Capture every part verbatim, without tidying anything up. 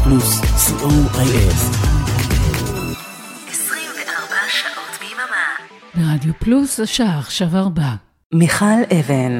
פלוס, סי או איי אס. עשרים וארבע שעות ביממה. ברדיו פלוס השעה עכשיו ארבע. מיכל אבן.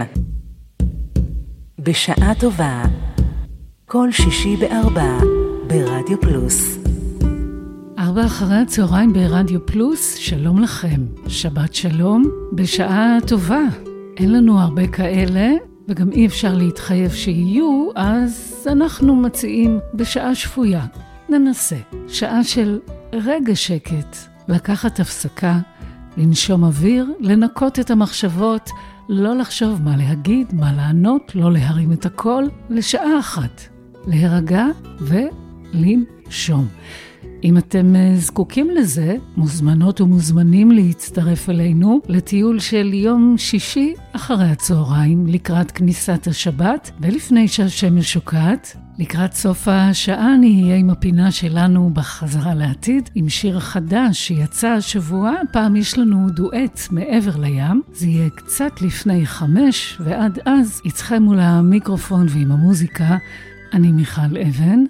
בשעה טובה. כל שישי בארבע ברדיו פלוס. ארבע אחרי הצהריים ברדיו פלוס, שלום לכם. שבת שלום, בשעה טובה. אין לנו הרבה כאלה, וגם אי אפשר להתחייב שיהיו, אז אנחנו מציעים בשעה שפויה. ננסה. שעה של רגע שקט, לקחת הפסקה, לנשום אוויר, לנקות את המחשבות, לא לחשוב מה להגיד, מה לענות, לא להרים את הכל, לשעה אחת. להירגע ולנשום. אם אתם זקוקים לזה, מוזמנות ומוזמנים להצטרף אלינו לטיול של יום שישי אחרי הצהריים לקראת כניסת השבת, ולפני שהשמש שוקעת, לקראת סוף השעה נהיה עם הפינה שלנו בחזרה לעתיד, עם שיר חדש שיצא השבוע. פעם יש לנו דואט מעבר לים, זה יהיה קצת לפני חמש, ועד אז איתכם מול המיקרופון ועם המוזיקה, אני מיכל אבן.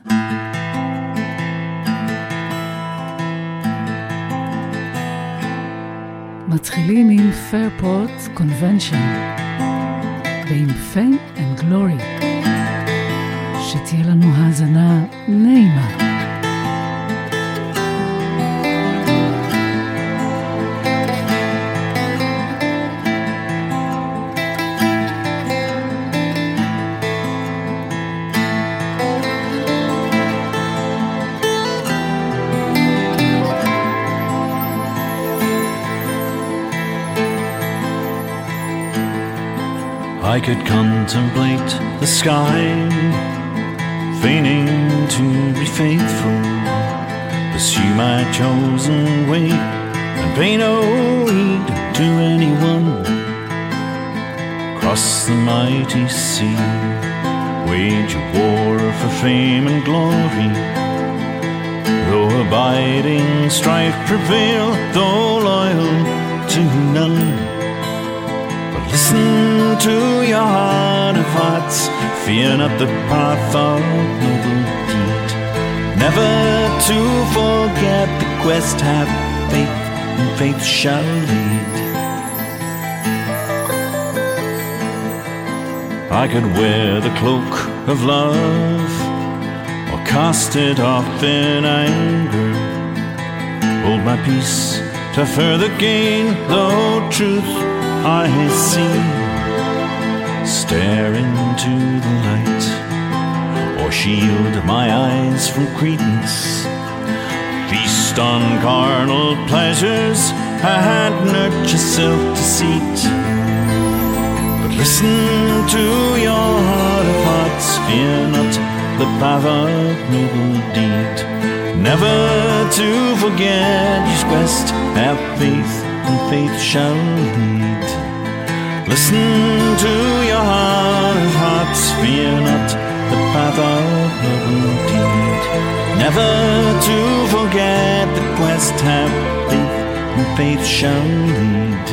מתחילים עם Fairport Convention ועם Fame and Glory. שתהיה לנו האזנה נעימה. I could contemplate the sky, feigning to be faithful, pursue my chosen way, and pay no heed to anyone. Cross the mighty sea, wage a war for fame and glory, though abiding strife prevail, though loyal to none. Listen to your heart of hearts, fear not the path of noble deed. Never to forget the quest, have faith, and faith shall lead. I could wear the cloak of love, or cast it off in anger, hold my peace to further gain, though truth I see, stare into the light, or shield my eyes from credence, feast on carnal pleasures and nurture self-deceit. But listen to your heart of hearts, fear not the path of noble deed. Never to forget his quest, have faith, and faith shall lead. Listen to your heart of hearts, fear not the path of noble deed. Never to forget the quest, have faith, and faith shall lead.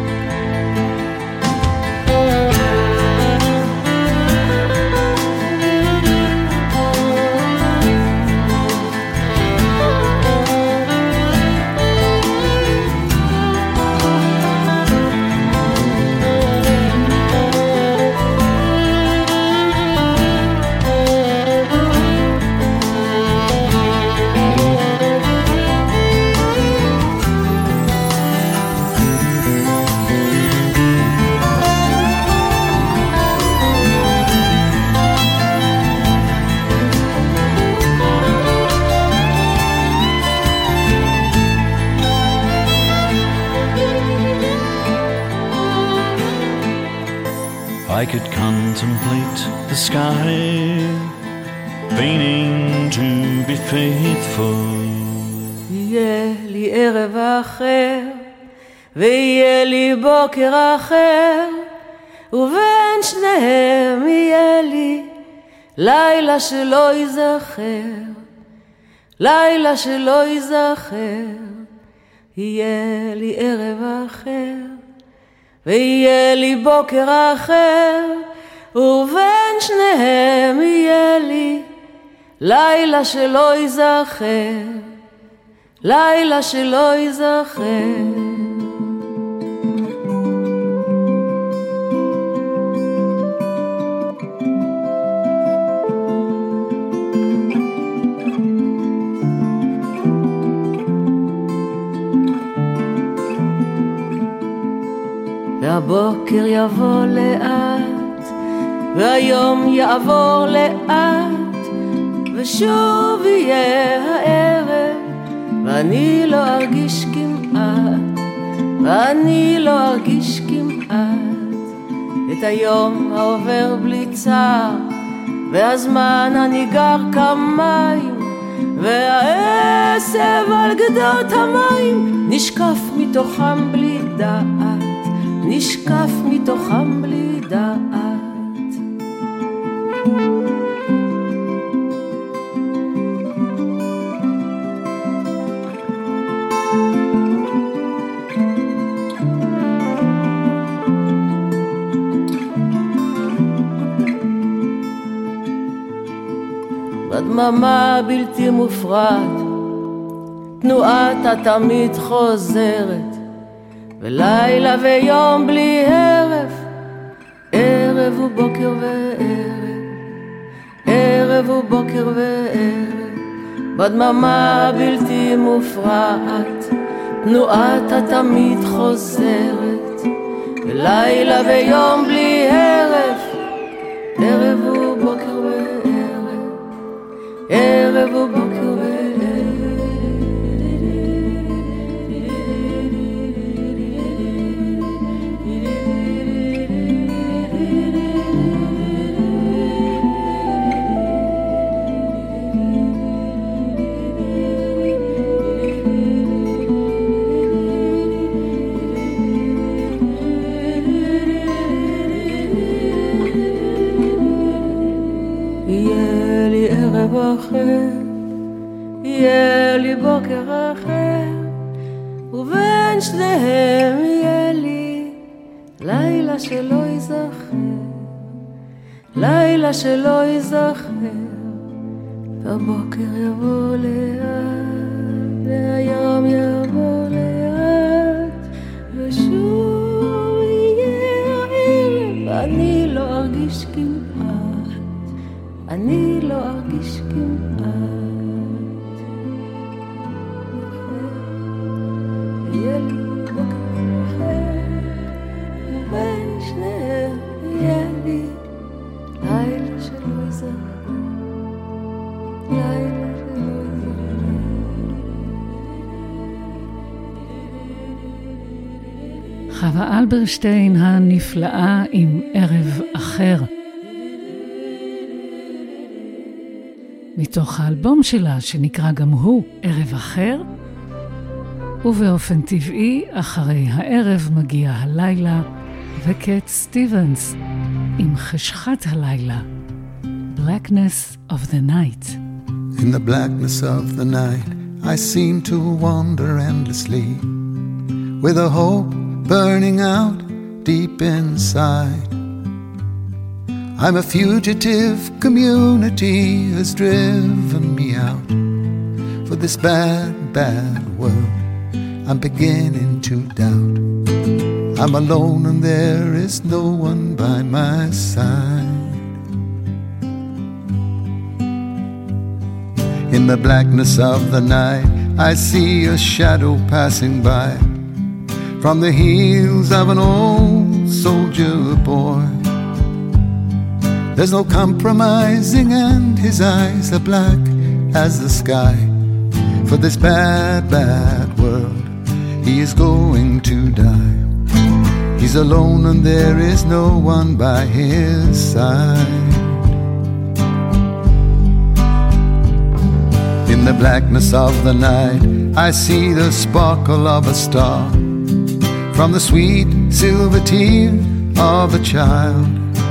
I could contemplate the sky, feigning to be faithful. יהיה לי ערב אחר, ויהיה לי בוקר אחר, ובין שניהם יהיה לי לילה שלא ייזכר, לילה שלא ייזכר. יהיה לי ערב אחר, ויהיה לי בוקר אחר, ובין שניהם יהיה לי לילה שלא ייזכר, לילה שלא ייזכר. והבוקר יבוא לאט, והיום יעבור לאט, ושוב יהיה הערב, ואני לא ארגיש כמעט, ואני לא ארגיש כמעט, את היום העובר בלי צער, והזמן הניגר כמים, והעשב על גדות המים, נשקף מתוכם בלי דעת, נשקף מתוכם בלי דעת. בדממה בלתי מופרעת, תנועת התמיד חוזרת, ולילה ויום בלי הרף, ערב ובוקר וערב, ערב ובוקר וערב, בדממה בלתי מופרעת, תנועת התמיד חוזרת, ולילה ויום בלי הרף, ערב ובוקר וערב, ערב ובוקר וערב. אחר, יהיה לי בוקר אחר, ובין שניהם יהיה לי לילה שלא ייזכר, לילה שלא ייזכר, והבוקר יבוא לאט, והיום יבוא לאט, ושוב יהיה הערב, אני לא ארגיש כמעט, אני לא ארגיש כמעט. יהיה לי בוקר אחר, ובין שניהם יהיה לי לילה שלא ייזכר, לילה שלא ייזכר. חווה אלברשטיין הנפלאה עם ערב אחר, מתוך האלבום שלה שנקרא גם הוא ערב אחר, ובאופן טבעי אחרי הערב מגיע הלילה, וקט סטיבנס עם חשכת הלילה, Blackness of the Night. In the blackness of the night I seem to wander endlessly, with a hope burning out deep inside. I'm a fugitive, community has driven me out. For this bad, bad world I'm beginning to doubt. I'm alone and there is no one by my side. In the blackness of the night I see a shadow passing by, from the heels of an old soldier boy. There's no compromising and his eyes are black as the sky. For this bad, bad world he is going to die. He's alone and there is no one by his side. In the blackness of the night I see the sparkle of a star, from the sweet silver tear of a child.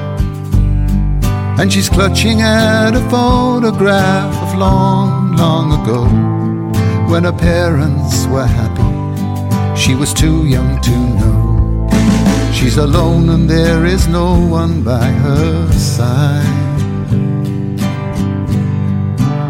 And she's clutching at a photograph of long, long ago, when her parents were happy, she was too young to know. She's alone and there is no one by her side.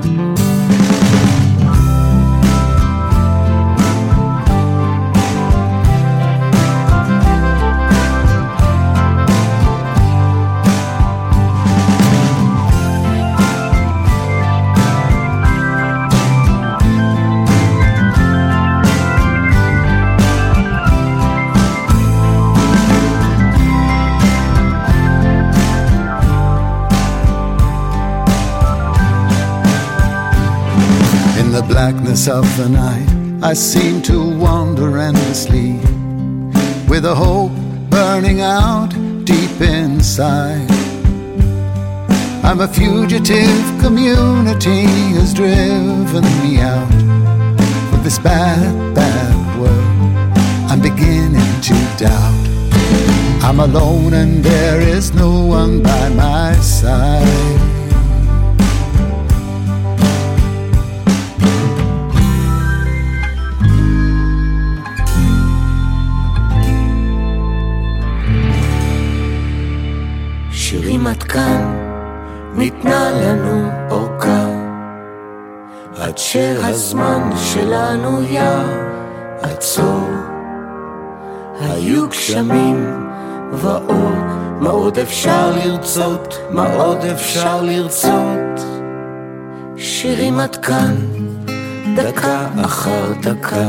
blackness of the night, I seem to wander endlessly, with a hope burning out deep inside. I'm a fugitive, community has driven me out of this bad, bad world. I'm beginning to doubt. I'm alone and there is no one by my side. שירים עד כאן, ניתנה לנו אורכה, עד שהזמן שלנו יעצור. היו גשמים ואור, מה עוד אפשר לרצות, מה עוד אפשר לרצות. שירים עד כאן, דקה אחר דקה,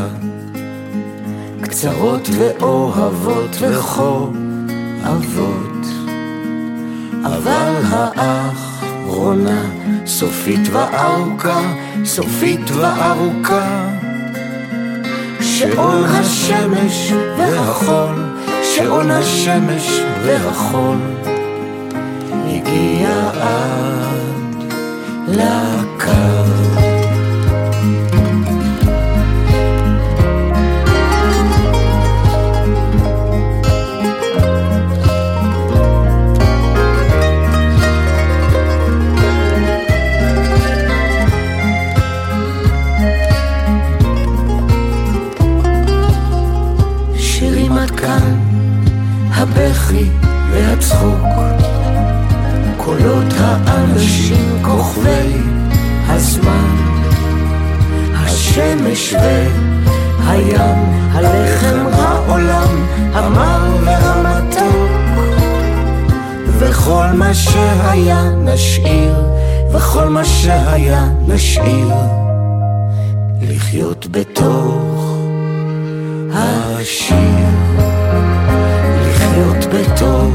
קצרות ואוהבות וכואבות, אבל האחרונה סופית וארוכה, סופית וארוכה. שעון השמש והחול, שעון השמש והחול, הגיע עד לקו. הבכי והצחוק, קולות האנשים כוכבי הזמן, השמש והים, הלחם העולם המר והמתוק, וכל מה שהיה נשאיר, וכל מה שהיה נשאיר, לחיות בתוך השיר, לחיות בתוך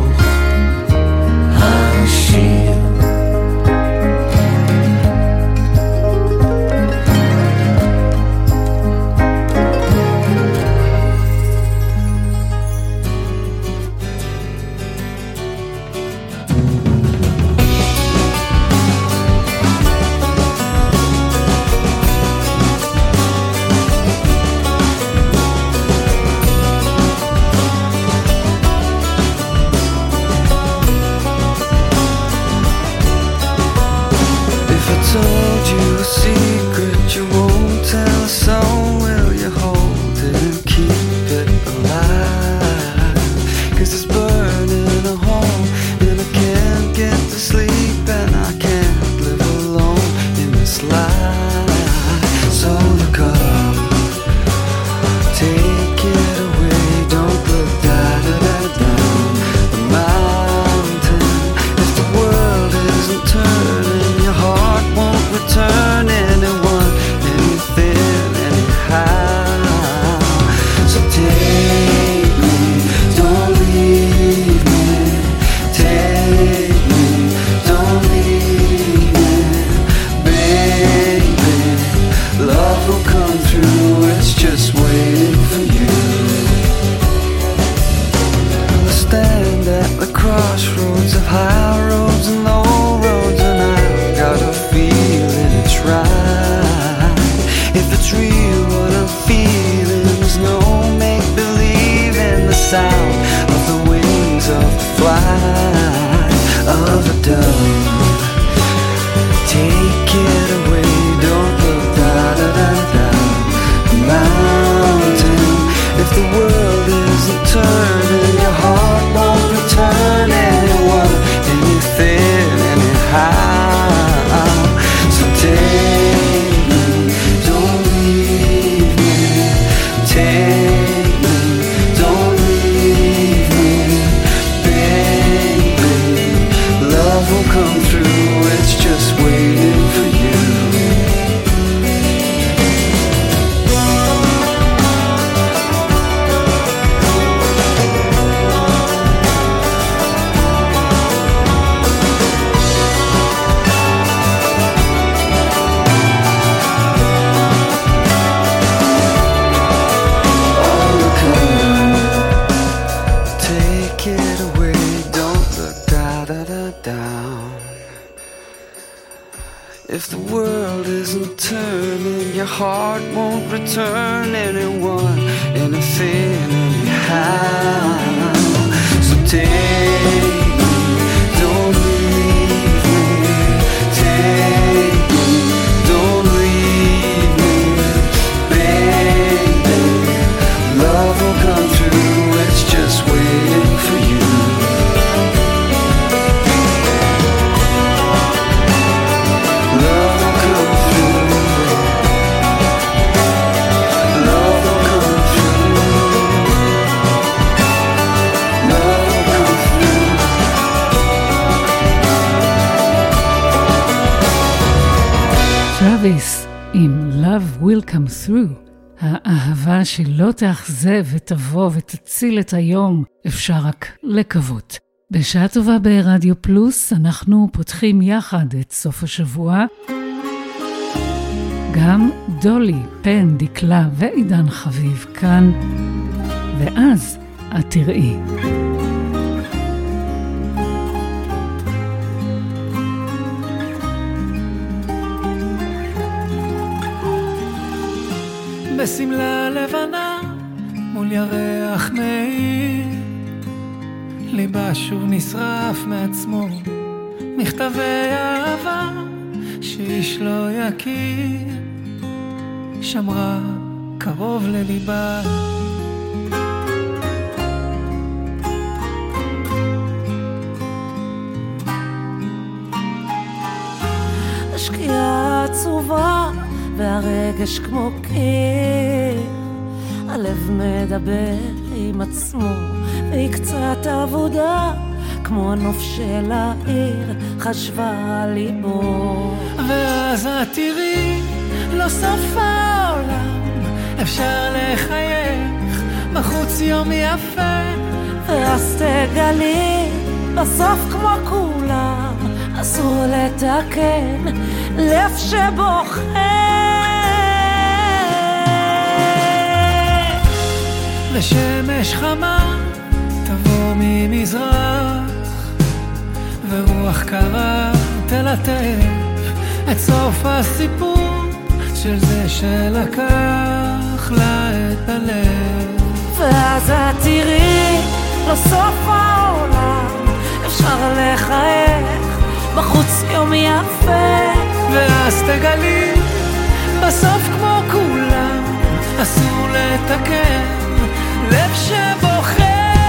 השיר. Come through. If the world isn't turning, your heart won't return anyone, anything, anyhow. So take me, don't leave me. Take me, don't leave me. Baby, love will come through, it's just waiting for you. טראביס עם Love Will Come Through, האהבה שלא תאכזב ותבוא ותציל את היום, אפשר רק לקוות. בשעה טובה ברדיו פלוס אנחנו פותחים יחד את סוף השבוע. גם דולי, פן, דקלה ועידן חביב כאן, ואז את תראי. בסמלה לבנה מול ירח מאיר, ליבה שוב נשרף מעצמו, מכתבי אהבה שאיש לא יכיר, שמרה קרוב לליבה. השקיעה עצובה והרגש כמו קיר, הלב מדבר עם עצמו והיא קצת עבודה, כמו הנוף של העיר חשבה על ליבו. ואז את תראי, לא סוף העולם, אפשר לחייך, בחוץ יום יפה. ואז תגלי, בסוף כמו כולם, אסור לתקן לב שבוחר. ושמש חמה תבוא ממזרח, ורוח קרה תלטף את סוף הסיפור של זה שלקח לה את הלב. ואז את תראי, לא סוף העולם, אפשר לחייך, בחוץ יום יפה. ואז תגלי, בסוף כמו כולם, אסור לתקן לב שבוחר.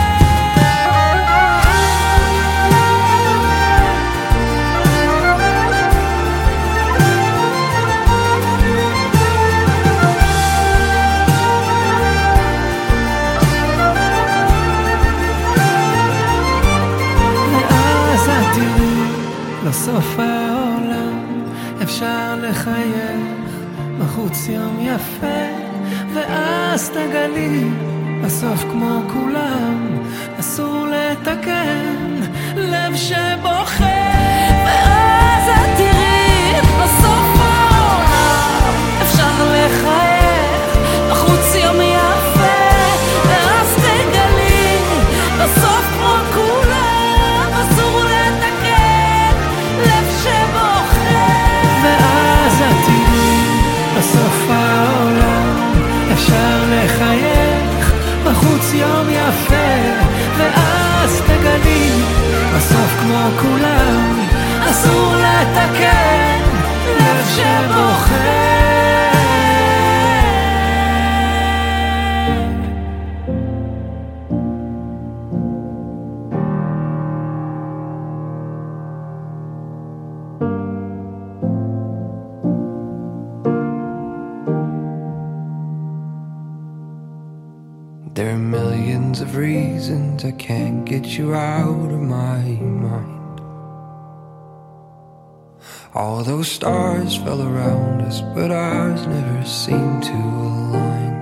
ואז את תראי, לסוף העולם אפשר לחייך, בחוץ יום יפה. ואז תגלי, בסוף כמו כולם, אסור לתקן לב שבוחר. ואז את תראי, בסוף העולם אפשר לחייך, בחוץ יום יפה. ואז תגלי, בסוף כמו כולם, אסור לתקן לב שבוחר. ואז את תראי, בסוף העולם אפשר לחייך, בחוץ יום יפה. ואז תגלי, בסוף כמו כולם, אסור לתקן לב שבוחר. There are millions of reasons I can't get you out of my mind. All those stars fell around us, but ours never seemed to align.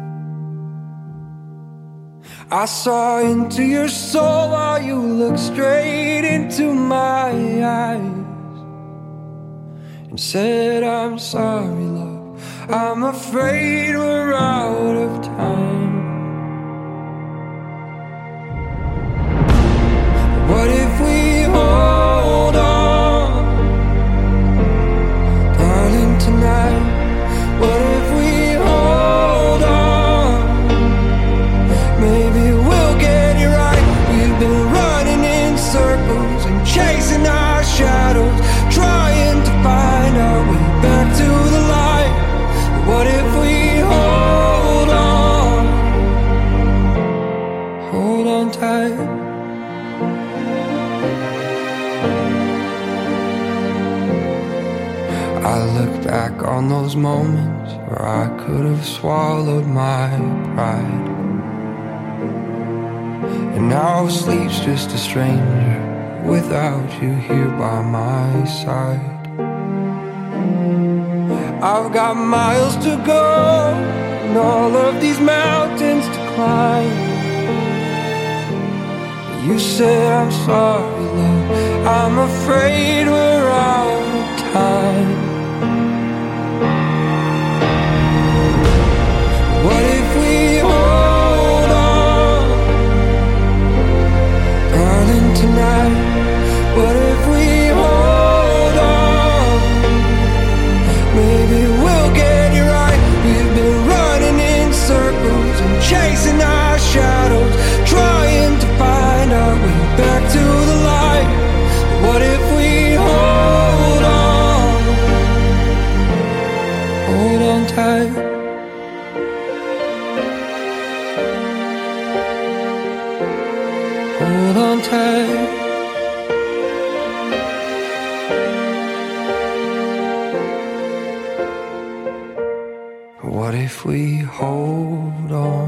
I saw into your soul while you looked straight into my eyes and said, I'm sorry, love, I'm afraid we're out of time. What if we hold on I look back on those moments where I could have swallowed my pride. And now sleep's just a stranger without you here by my side. I've got miles to go and all of these mountains to climb. You said I'm sorry, love, I'm afraid we're out of time. What if we hold on, darling, tonight? What if we hold on? Maybe we'll get it right. We've been running in circles and chasing our shadows, trying to find our way back to the light. What if we hold on? Hold on tight. Hold on tight. What if we hold on,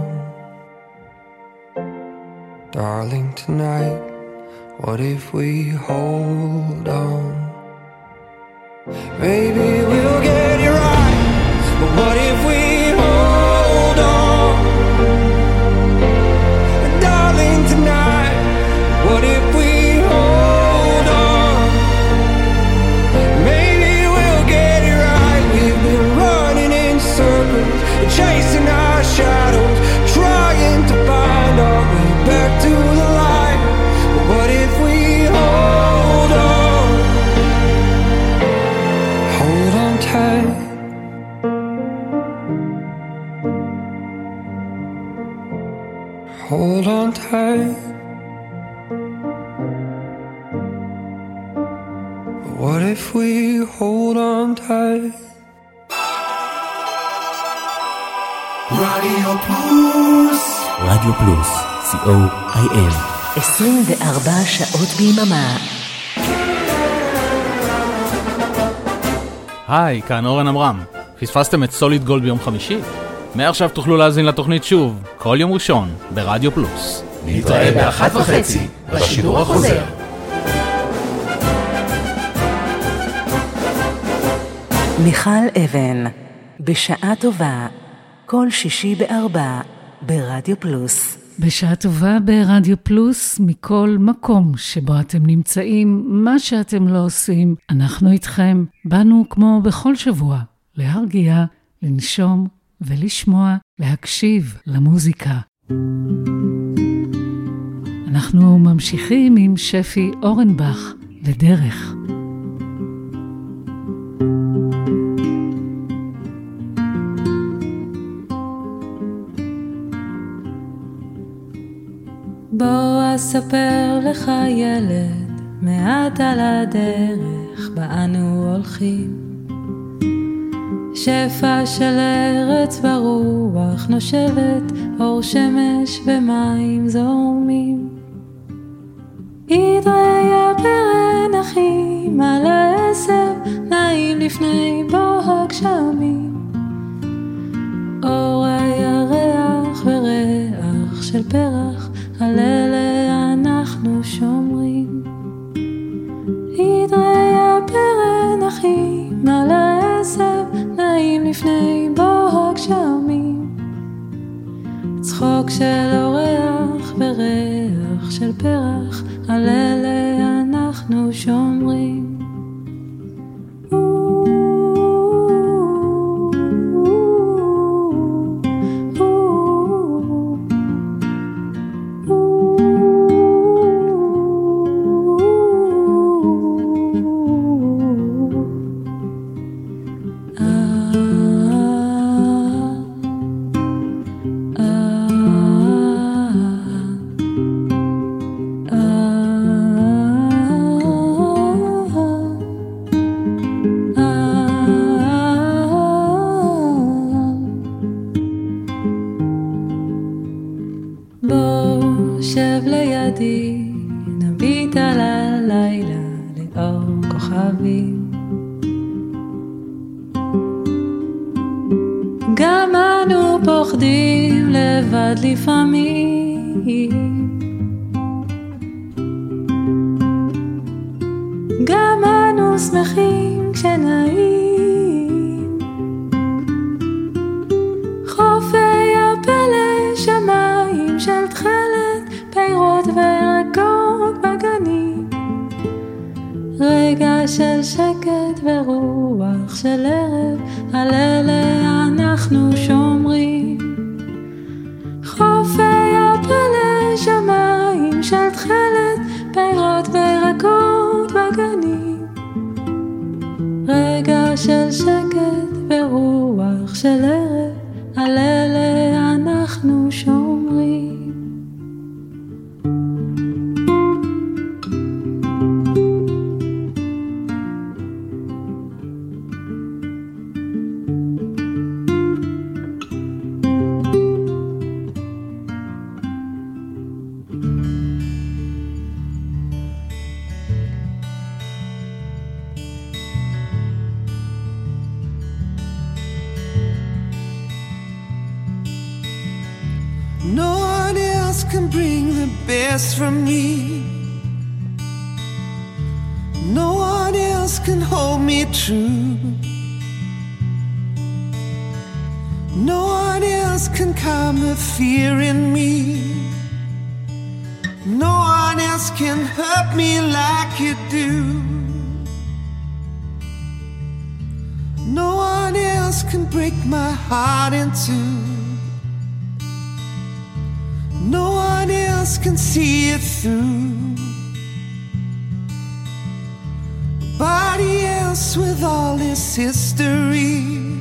darling, tonight? What if we hold on? Maybe we'll get it right. But what if we hold on, darling, tonight? What if we hold on? Maybe we'll get it right. We've been running in circles, chasing our shadows, trying to find our way back to the light. But what if we hold on? Hold on tight. Hold on tight. What if we hold on tight? רדיו פלוס. רדיו פלוס, סי או איי אל. עשרים וארבע שעות ביממה. היי, כאן אורן אמרם. פספסתם את סוליד גולד ביום חמישי? מעכשיו תוכלו להזין לתוכנית שוב, כל יום ראשון, ברדיו פלוס. נתראה באחת וחצי, בשידור החוזר. מיכל אבן, בשעה טובה, כל שישי בארבע, ברדיו פלוס. בשעה טובה ברדיו פלוס, מכל מקום שבו אתם נמצאים, מה שאתם לא עושים, אנחנו איתכם. באנו כמו בכל שבוע, להרגיע, לנשום ולשמוע, להקשיב למוזיקה. אנחנו ממשיכים עם שפי אורנבך ודרך. בוא אספר לך ילד מעט על הדרך בה אנו הולכים, שפע של ארץ ברוח נושבת, אור שמש ומים זורמים. ידריה ברן אחים על העשב, נעים לפני בוא הגשמים, אור הירח וריח של פרח, על אלה אנחנו שומרים. ידריה ברן אחים על העשב, נעים לפני בוא הגשמים, צחוק של אורח וריח של פרח, על אלה אנחנו שומרים. פוחדים לבד לפעמים. גם אנו שמחים כשנעים, חופי הפלא שמיים של תכלת, פירות וירקות בגנים, רגע של שקט ורוח של ערב, על אלה אנחנו שומרים. חופי הפלא שמיים של תכלת, פירות וירקות בגנים, רגע של שקט ורוח של ערב, על אלה אנחנו שומרים. No one else can bring the best from me. No one else can hold me true. No one else can calm the fear in me. No one else can hurt me like you do. No one else can break my heart in two. No one else can see it through. Nobody else with all this history.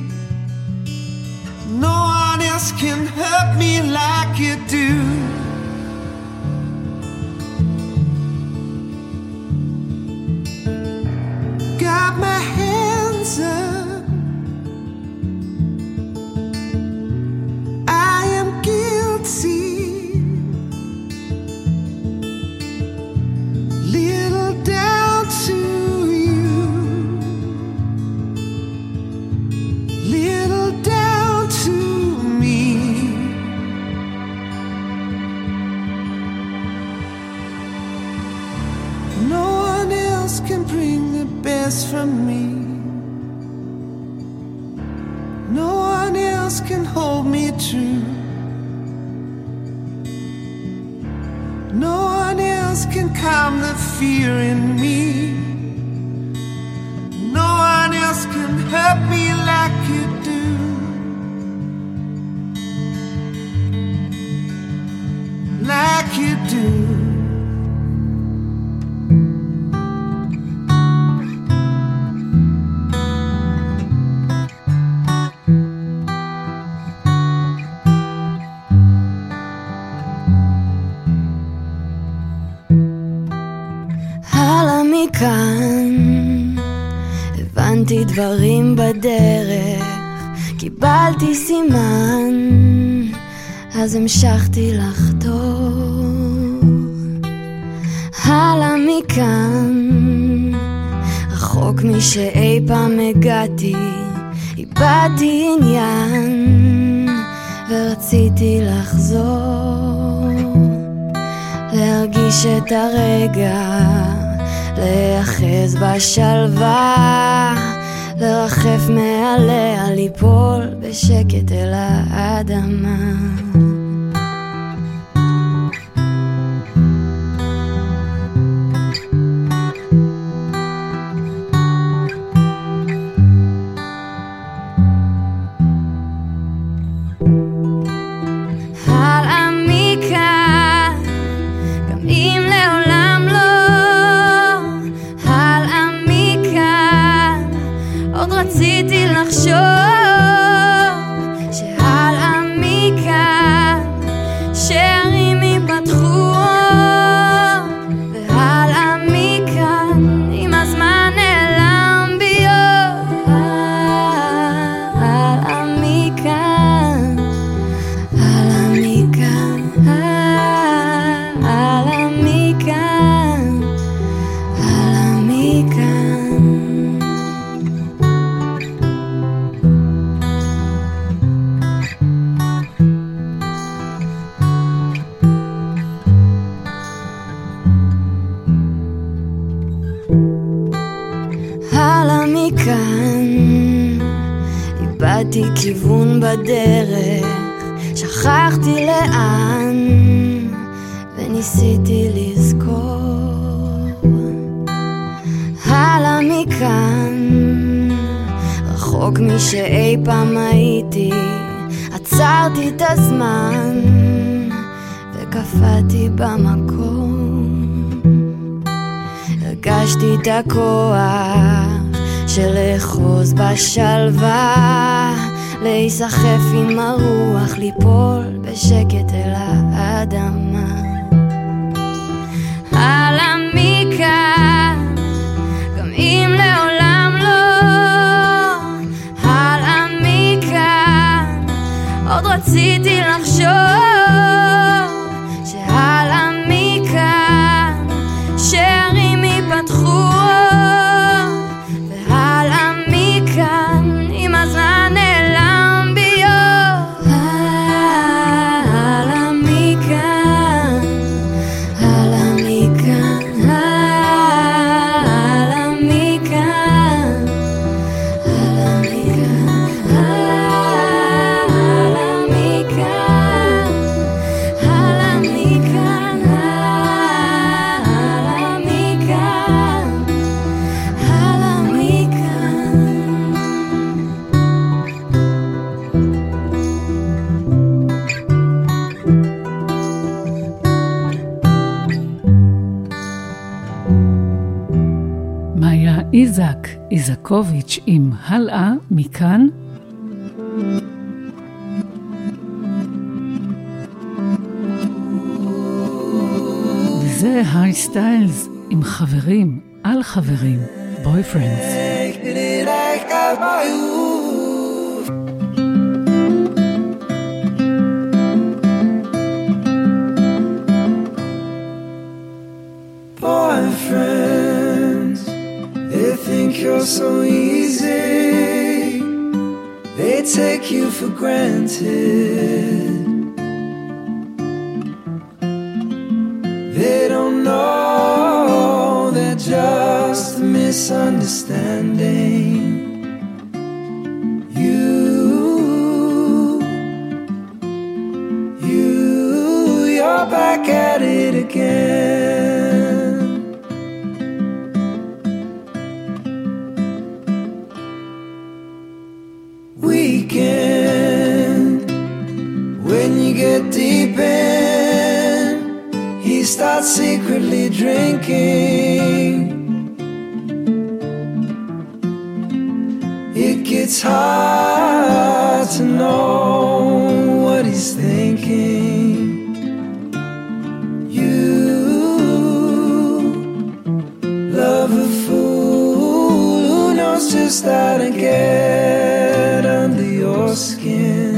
No one else can hurt me like you do. Got my hands up, I am guilty. From me, no one else can hold me true. No one else can calm the fear in me. No one else can hurt me like you do. Like you do. כאן הבנתי דברים בדרך, קיבלתי סימן, אז המשכתי לחתור. הלאה מכאן, רחוק משאי פעם הגעתי, איבדתי עניין ורציתי לחזור, להרגיש את הרגע, להיאחז בשלווה, לרחף מעליה, ליפול בשקט אל האדמה. רציתי לחשוב שהלאה מכאן מכאן, איבדתי כיוון בדרך, שכחתי לאן, וניסיתי לזכור. הלאה מכאן, רחוק משאי פעם הייתי, עצרתי את הזמן וקפאתי במקום. הרגשתי את הכוח של לחוז בשלווה, להיסחף עם הרוח, ליפול בשקט אל האדמה. הלאה מכאן, גם אם לעולם לא, הלאה מכאן, עוד רציתי לחשוב שהלאה מכאן, שערים ייפתחו, והלאה מכאן, עם הזמן נעלם ביום. הלאה מכאן, הלאה מכאן, הלאה מכאן, הלאה מכאן, הלאה מכאן, הלאה מכאן, הלאה מכאן, הלאה מכאן. מאיה איזק איזקוביץ' עם הלאה מכאן. וזה הארי סטיילס עם חברים על חברים, בויפרנדס. Boyfriends, they think you're so easy, they take you for granted. They don't know they're just a misunderstanding. You, you, you're back at it again. Weekend, when you get deep in, he starts secretly drinking. It gets hard to know what he's thinking. You love a fool who knows just how to get under your skin.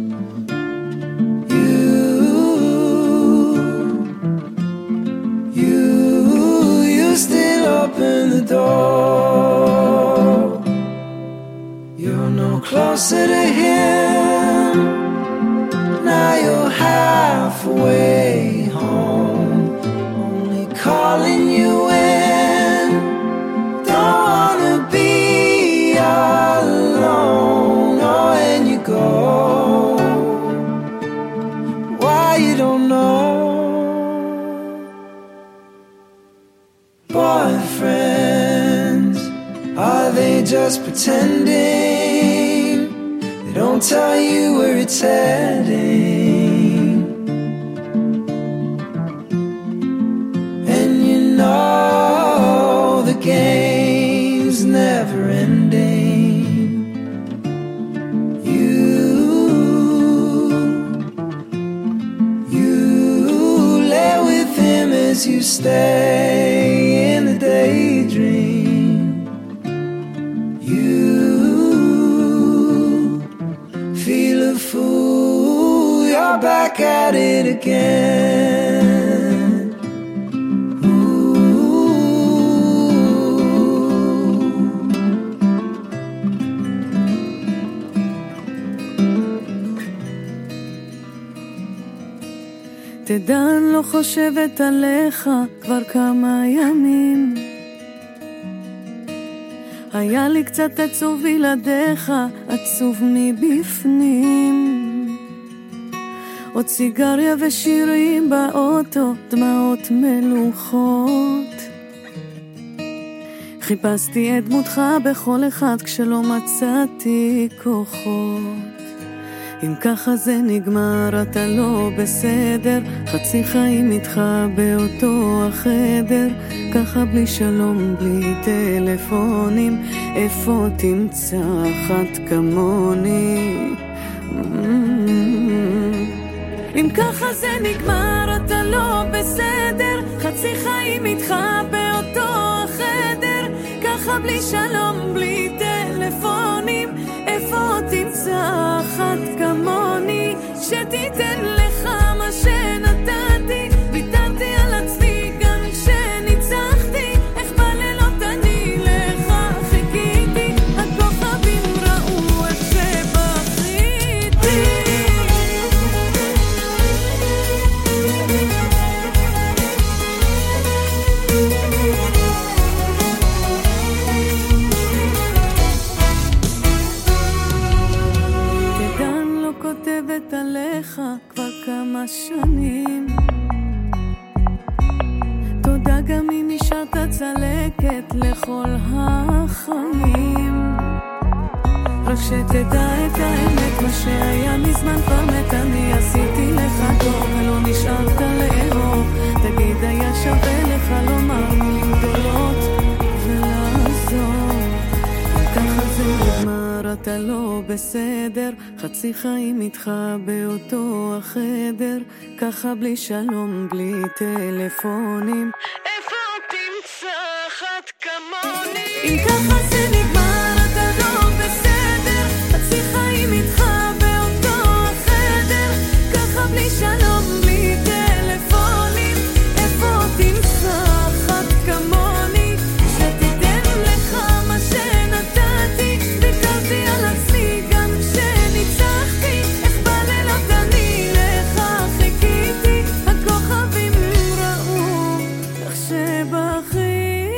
Open the door. You're no closer to him. Now you're halfway home, only calling you in. Don't wanna be alone. Oh, and you go. Why you don't know? Boyfriends, are they just pretending? They don't tell you where it's heading. And you know the game's never ending. You, you lay with him as you stay in the daydream. You feel a fool, you're back at it again. תדע, אני לא חושבת עליך כבר כמה ימים. היה לי קצת עצוב בלעדיך, עצוב מבפנים. עוד סיגריה ושירים באוטו, דמעות מלוכות. חיפשתי את דמותך בכל אחד כשלא מצאתי כוחות. אם ככה זה נגמר אתה לא בסדר, חצי חיים איתך באותו החדר, ככה בלי שלום בלי טלפונים, איפה תמצא אחת כמוני? אם ככה זה נגמר אתה לא בסדר, חצי חיים איתך באותו החדר, ככה בלי שלום בלי טלפונים, איפה תמצא אחת כמוני שתיתן לך מה שנתתי, ויתרתי על עצמי גם כשניצחתי, איך בלילות אני לך חיכיתי, הכוכבים ראו איך שבכיתי. כותבת עליך כבר כמה שנים, תודה גם אם נשארת צלקת לכל החיים, רק שתדע את האמת, מה שהיה מזמן כבר מת, אני עשיתי לך טוב ולא נשארת לאהוב, תגיד היה שווה לך לומר מילים גדולות ולעזור, ככה זה נגמר אתה לא בסדר, חצי חיים איתך באותו החדר, ככה בלי שלום בלי טלפונים, איפה תמצא אחת כמוני? אם ככה זה נגמר אתה לא בסדר, חצי חיים איתך באותו החדר, ככה בלי שלום בלי טלפונים, איפה תמצא אחת כמוני שתיתן לך מה שנתתי, ויתרתי על עצמי גם כשניצחתי, איך בלילות אני לך חיכיתי, הכוכבים ראו איך שבכיתי.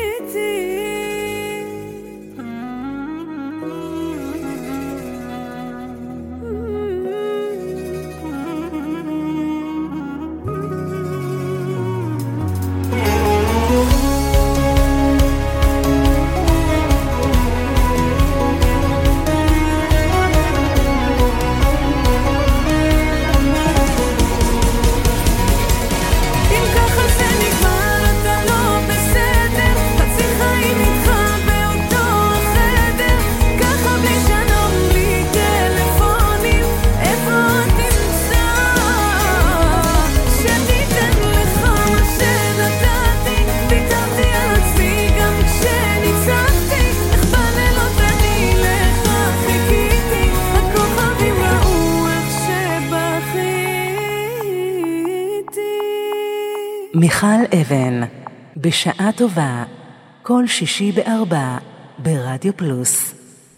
מיכל אבן, בשעה טובה, כל שישי בארבע, ברדיו פלוס.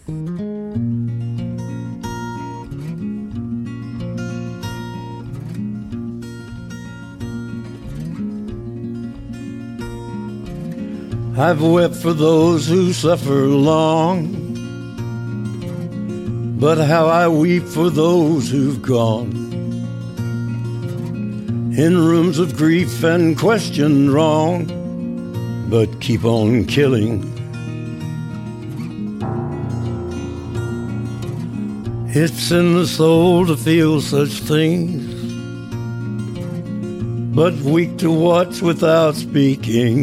I've wept for those who suffer long, but how I weep for those who've gone in rooms of grief and questioned wrong, but keep on killing. It's in the soul to feel such things, but weak to watch without speaking.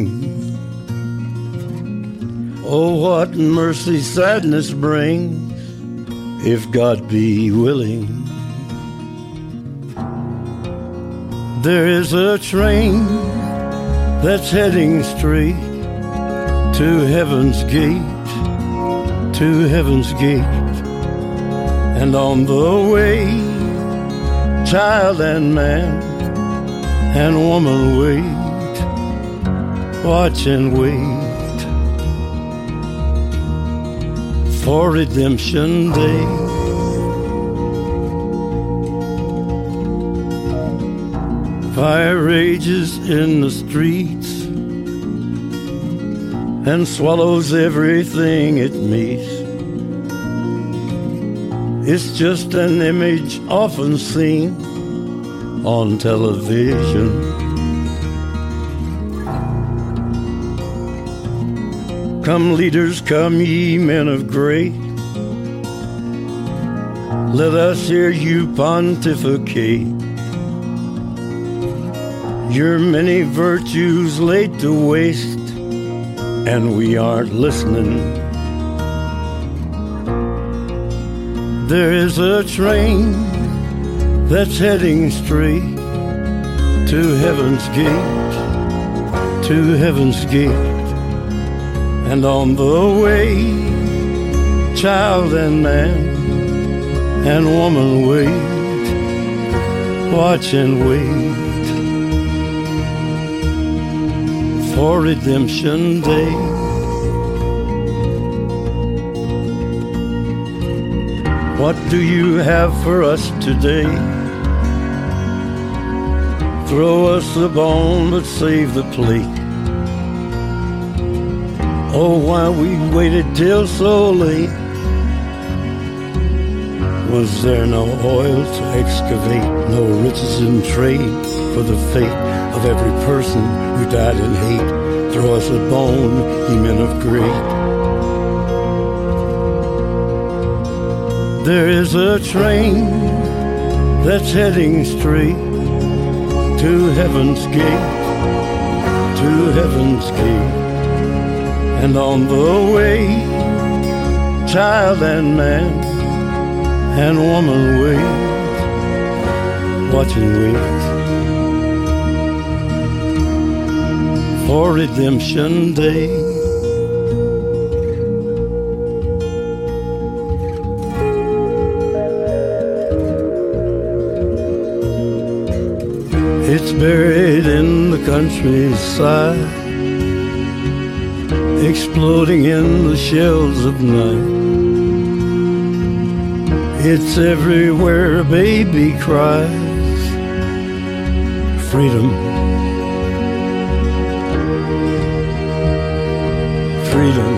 Oh, what mercy sadness brings, if God be willing. There is a train that's heading straight to heaven's gate, to heaven's gate. And on the way, child and man and woman wait, watch and wait for redemption day. Fire rages in the streets, and swallows everything it meets. It's just an image often seen on television. Come leaders, come ye men of great, let us hear you pontificate. Your many virtues laid to waste, and we aren't listening. There is a train that's heading straight to heaven's gate, to heaven's gate. And on the way, child and man and woman wait, watch and wait for redemption day. What do you have for us today? Throw us the bone, but save the plate. Oh, why we waited till so late? Was there no oil to excavate, no riches in trade for the fate of every person who died in hate? Throw us a bone, ye men of great. There is a train that's heading straight to heaven's gate, to heaven's gate. And on the way, child and man and woman wait, watch and wait for redemption day. It's buried in the countryside, exploding in the shells of night. It's everywhere a baby cries, freedom, freedom,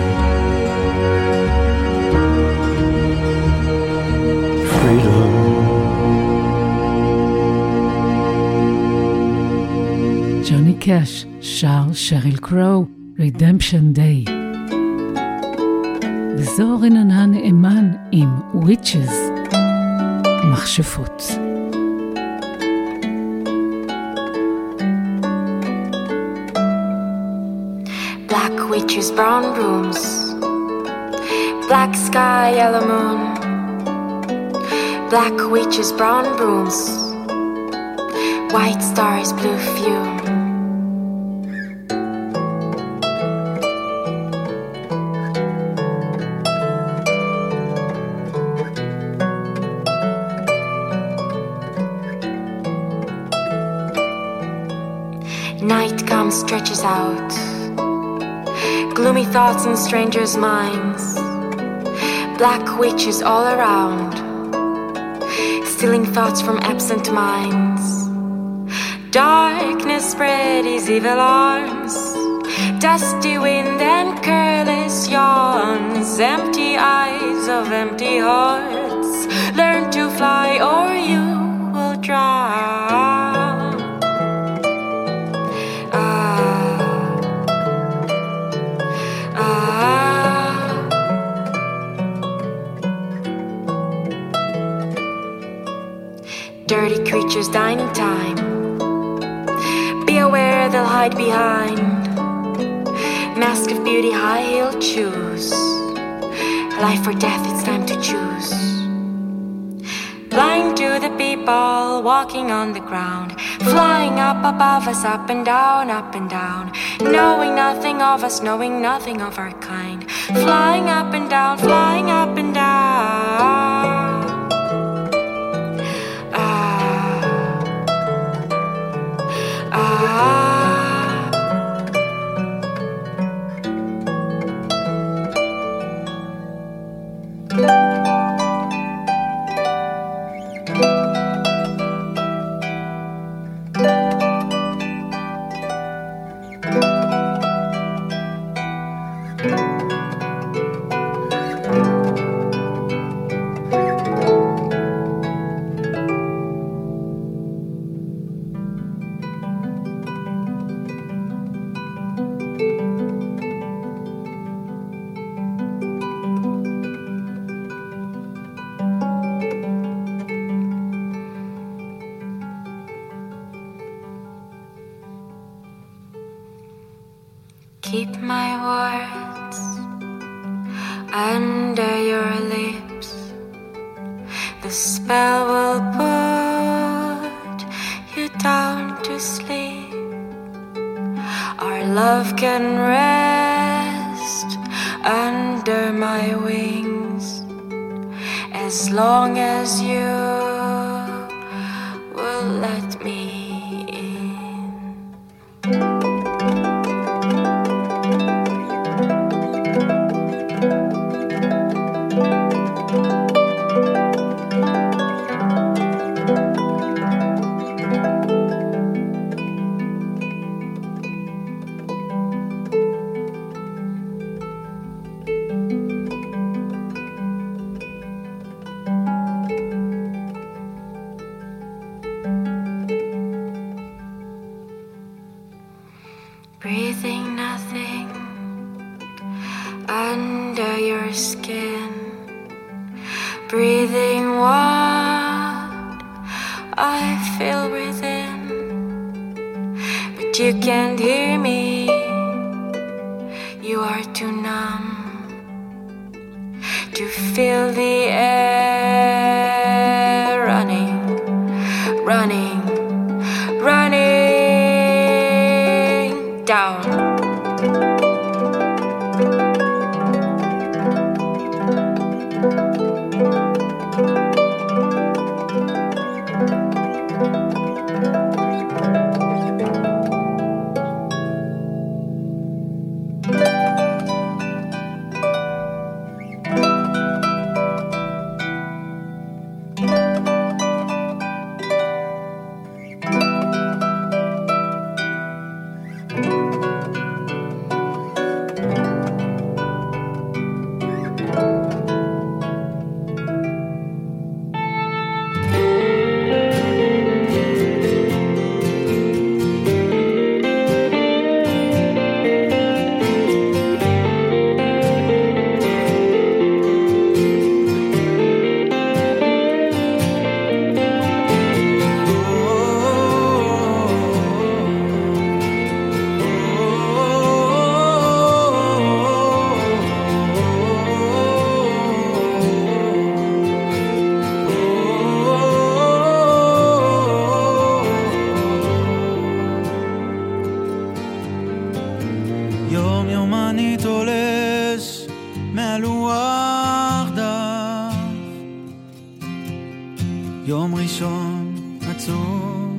freedom. ג'וני קאש שר שריל קרו, Redemption Day. וזו רננה נאמן עם Witches, מכשפות. Black witches, brown rooms, black sky, yellow moon. Black witches, brown rooms, white stars, blue fume. Night comes, stretches out, gloomy thoughts in strangers' minds, black witches all around, stealing thoughts from absent minds. Darkness spread his evil arms, dusty wind and careless yawns, empty eyes of empty hearts. Learn to fly or you will drown. Dirty creatures dining time, be aware they'll hide behind mask of beauty, high-heeled shoes. Life or death, it's time to choose. Blind to the people walking on the ground, flying up above us, up and down, up and down, knowing nothing of us, knowing nothing of our kind, flying up and down, flying up and down. Keep my words under your lips. The spell will put you down to sleep. Our love can rest under my wings as long as you will let me in. Breathing nothing under your skin, breathing what I feel within, but you can't hear me, you are too numb to feel the air running, running, running down. יום יום אני תולש מהלוח דף, יום ראשון עצוב,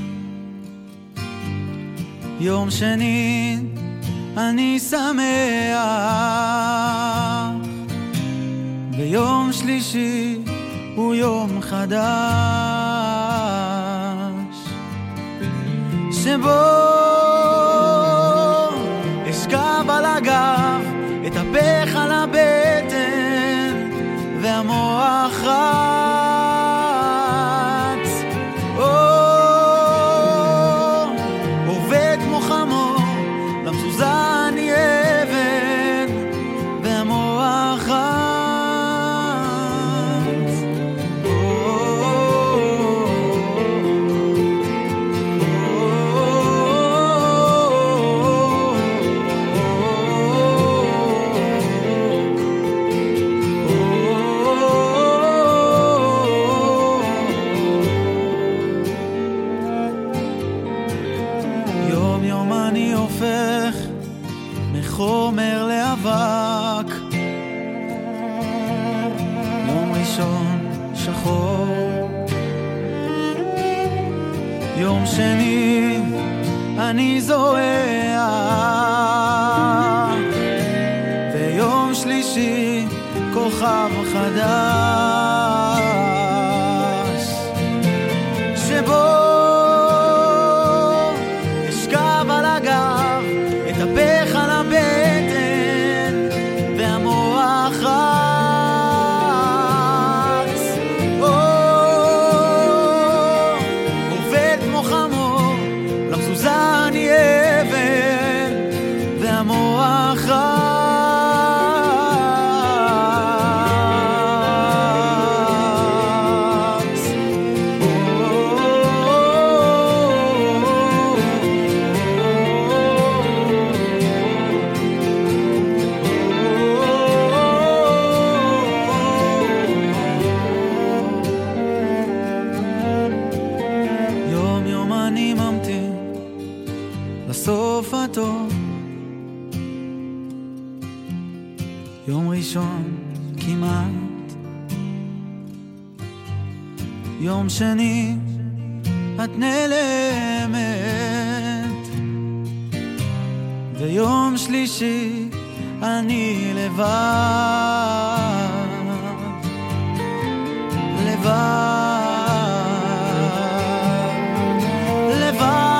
יום שני אני שמח, ויום שלישי הוא יום חדש שבו אשכב על הגב, אתהפך על הבטן והמוח רץ, או, עובד כמו חמור, למזוזה אני עבד והמוח רץ, חומר לאבק, יום ראשון שחור, יום שני אני זורח, ויום שלישי כוכב חדש שבו אשכב על הגב, אתהפך על הבטן יום ראשון כמעט, יום שני את נעלמת, ויום שלישי אני לבד, לבד, לבד.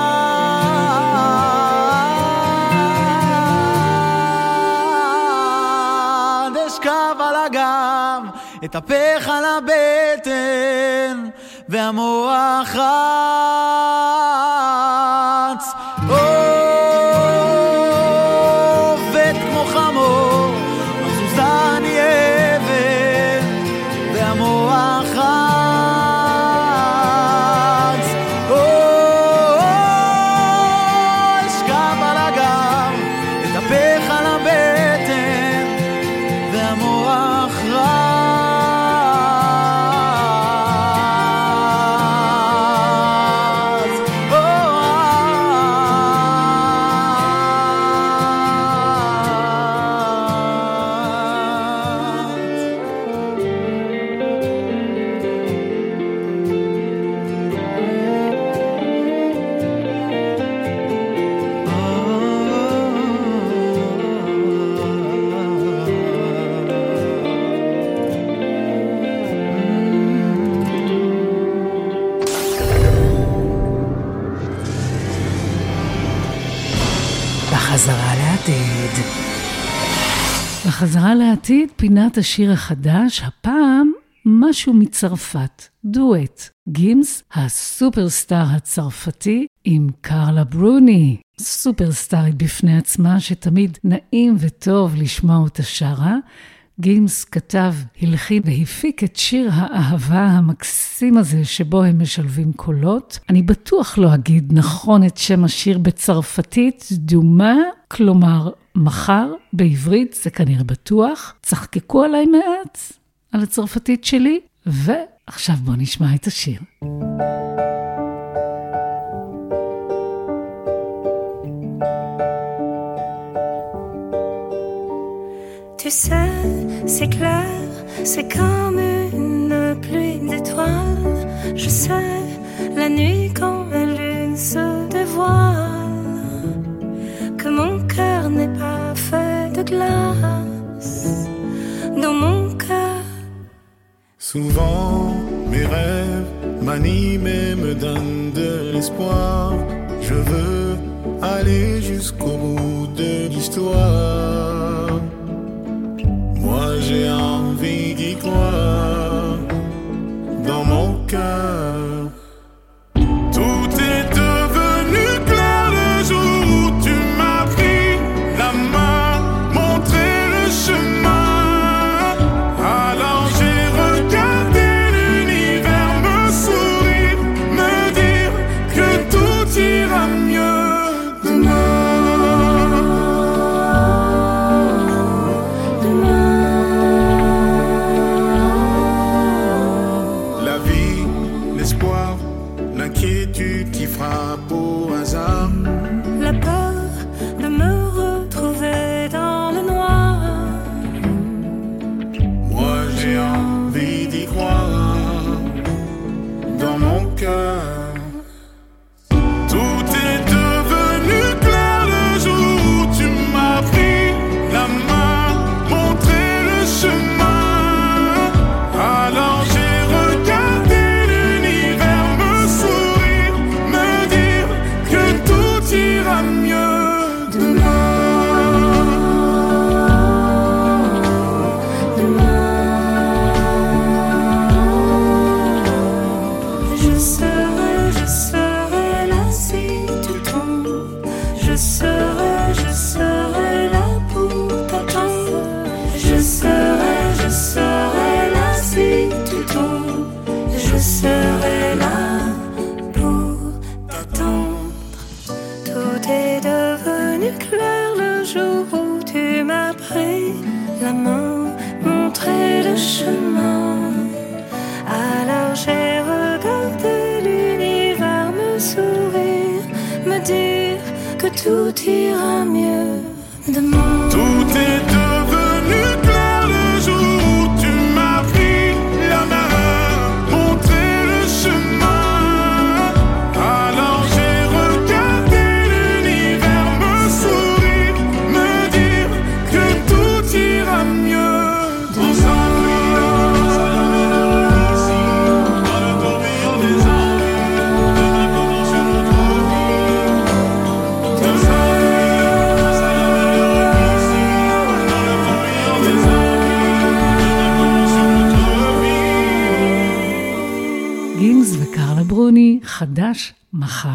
אשכב על הגב, אתהפך על הבטן, והמוח רץ עובד כמו חמור, מזוזה אני אבן, והמוח רץ אשכב על הגב, אתהפך על הבטן, והמוח רץ. בחזרה לעתיד. בחזרה לעתיד, פינת השיר החדש, הפעם משהו מצרפת, דואט. גימס, הסופרסטאר הצרפתי, עם קרלה ברוני. סופרסטארית בפני עצמה, שתמיד נעים וטוב לשמוע אותה שרה. גימס כתב, הלחין והפיק את שיר האהבה המקסים הזה שבו הם משלבים קולות. אני בטוח לא אגיד נכון את שם השיר בצרפתית, דומה, כלומר מחר, בעברית זה כנראה בטוח. צחקקו עליי מעט על הצרפתית שלי, ועכשיו בוא נשמע את השיר. Tu sais, c'est clair, c'est comme une pluie d'étoiles. Je sais, la nuit quand la lune se dévoile, que mon cœur n'est pas fait de glace. Dans mon cœur, souvent mes rêves m'animent et me donnent de l'espoir. Je veux aller jusqu'au bout de l'histoire. Moi j'ai envie d'y croire dans mon cœur. Tout est devenu clair le jour où tu m'as pris la main, montré le chemin. Alors j'ai regardé l'univers me sourire, me dire que tout ira mieux demain. Qui frappe au hasard, la peur de me retrouver dans le noir. Moi j'ai envie d'y croire dans mon cœur. Tout est devenu clair le jour où tu m'as pris la main, montré le chemin. Alors j'ai regardé l'univers me sourire, tout ira mieux demain. Demain, je serai, je serai là si tu tombes. Je serai, je serai là pour t'attendre. Je serai, je serai là si tu tombes. Je serai là pour t'attendre. Tout est devenu clair le jour où tu m'as pris la main, montré le chemin. Alors j'ai regardé l'univers me sourire, me dire que tout ira mieux demain. Tout est devenu clair. חדש מחר.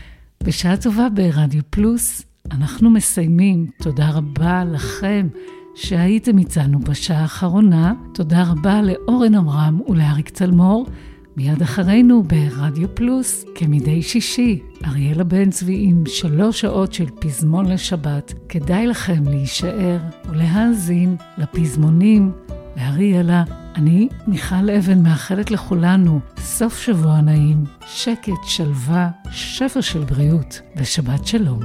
בשעה טובה ברדיו פלוס, אנחנו מסיימים. תודה רבה לכם שהייתם איתנו בשעה האחרונה. תודה רבה לאורן אמרם ולאריק צלמור. מיד אחרינו ברדיו פלוס, כמדי שישי, אריאלה בן צבי עם שלוש שעות של פזמון לשבת. כדאי לכם להישאר ולהאזין לפזמונים. ואריאלה, אני מיכל אבן מאחלת לכולנו סוף שבוע נעים, שקט, שלווה, שפע של בריאות ושבת שלום.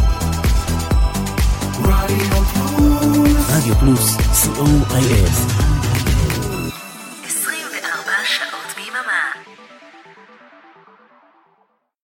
רדיו פלוס, סי או איי אס